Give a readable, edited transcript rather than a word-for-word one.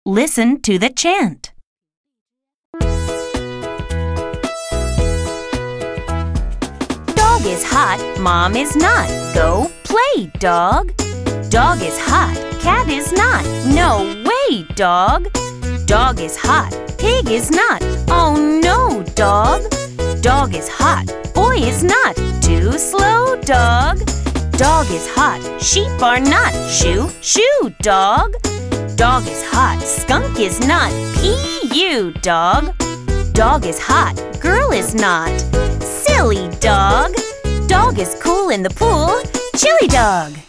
Listen to the chant. Dog is hot, Mom is not. Go play, dog. Dog is hot, cat is not. No way, dog. Dog is hot, pig is not. Oh no, dog. Dog is hot, boy is not. Too slow, dog. Dog is hot, sheep are not. Shoo, shoo, dog. Dog is hot, skunk is not. P.U., dog. Dog is hot, girl is not. Silly dog. Dog is cool in the pool. Chilly dog.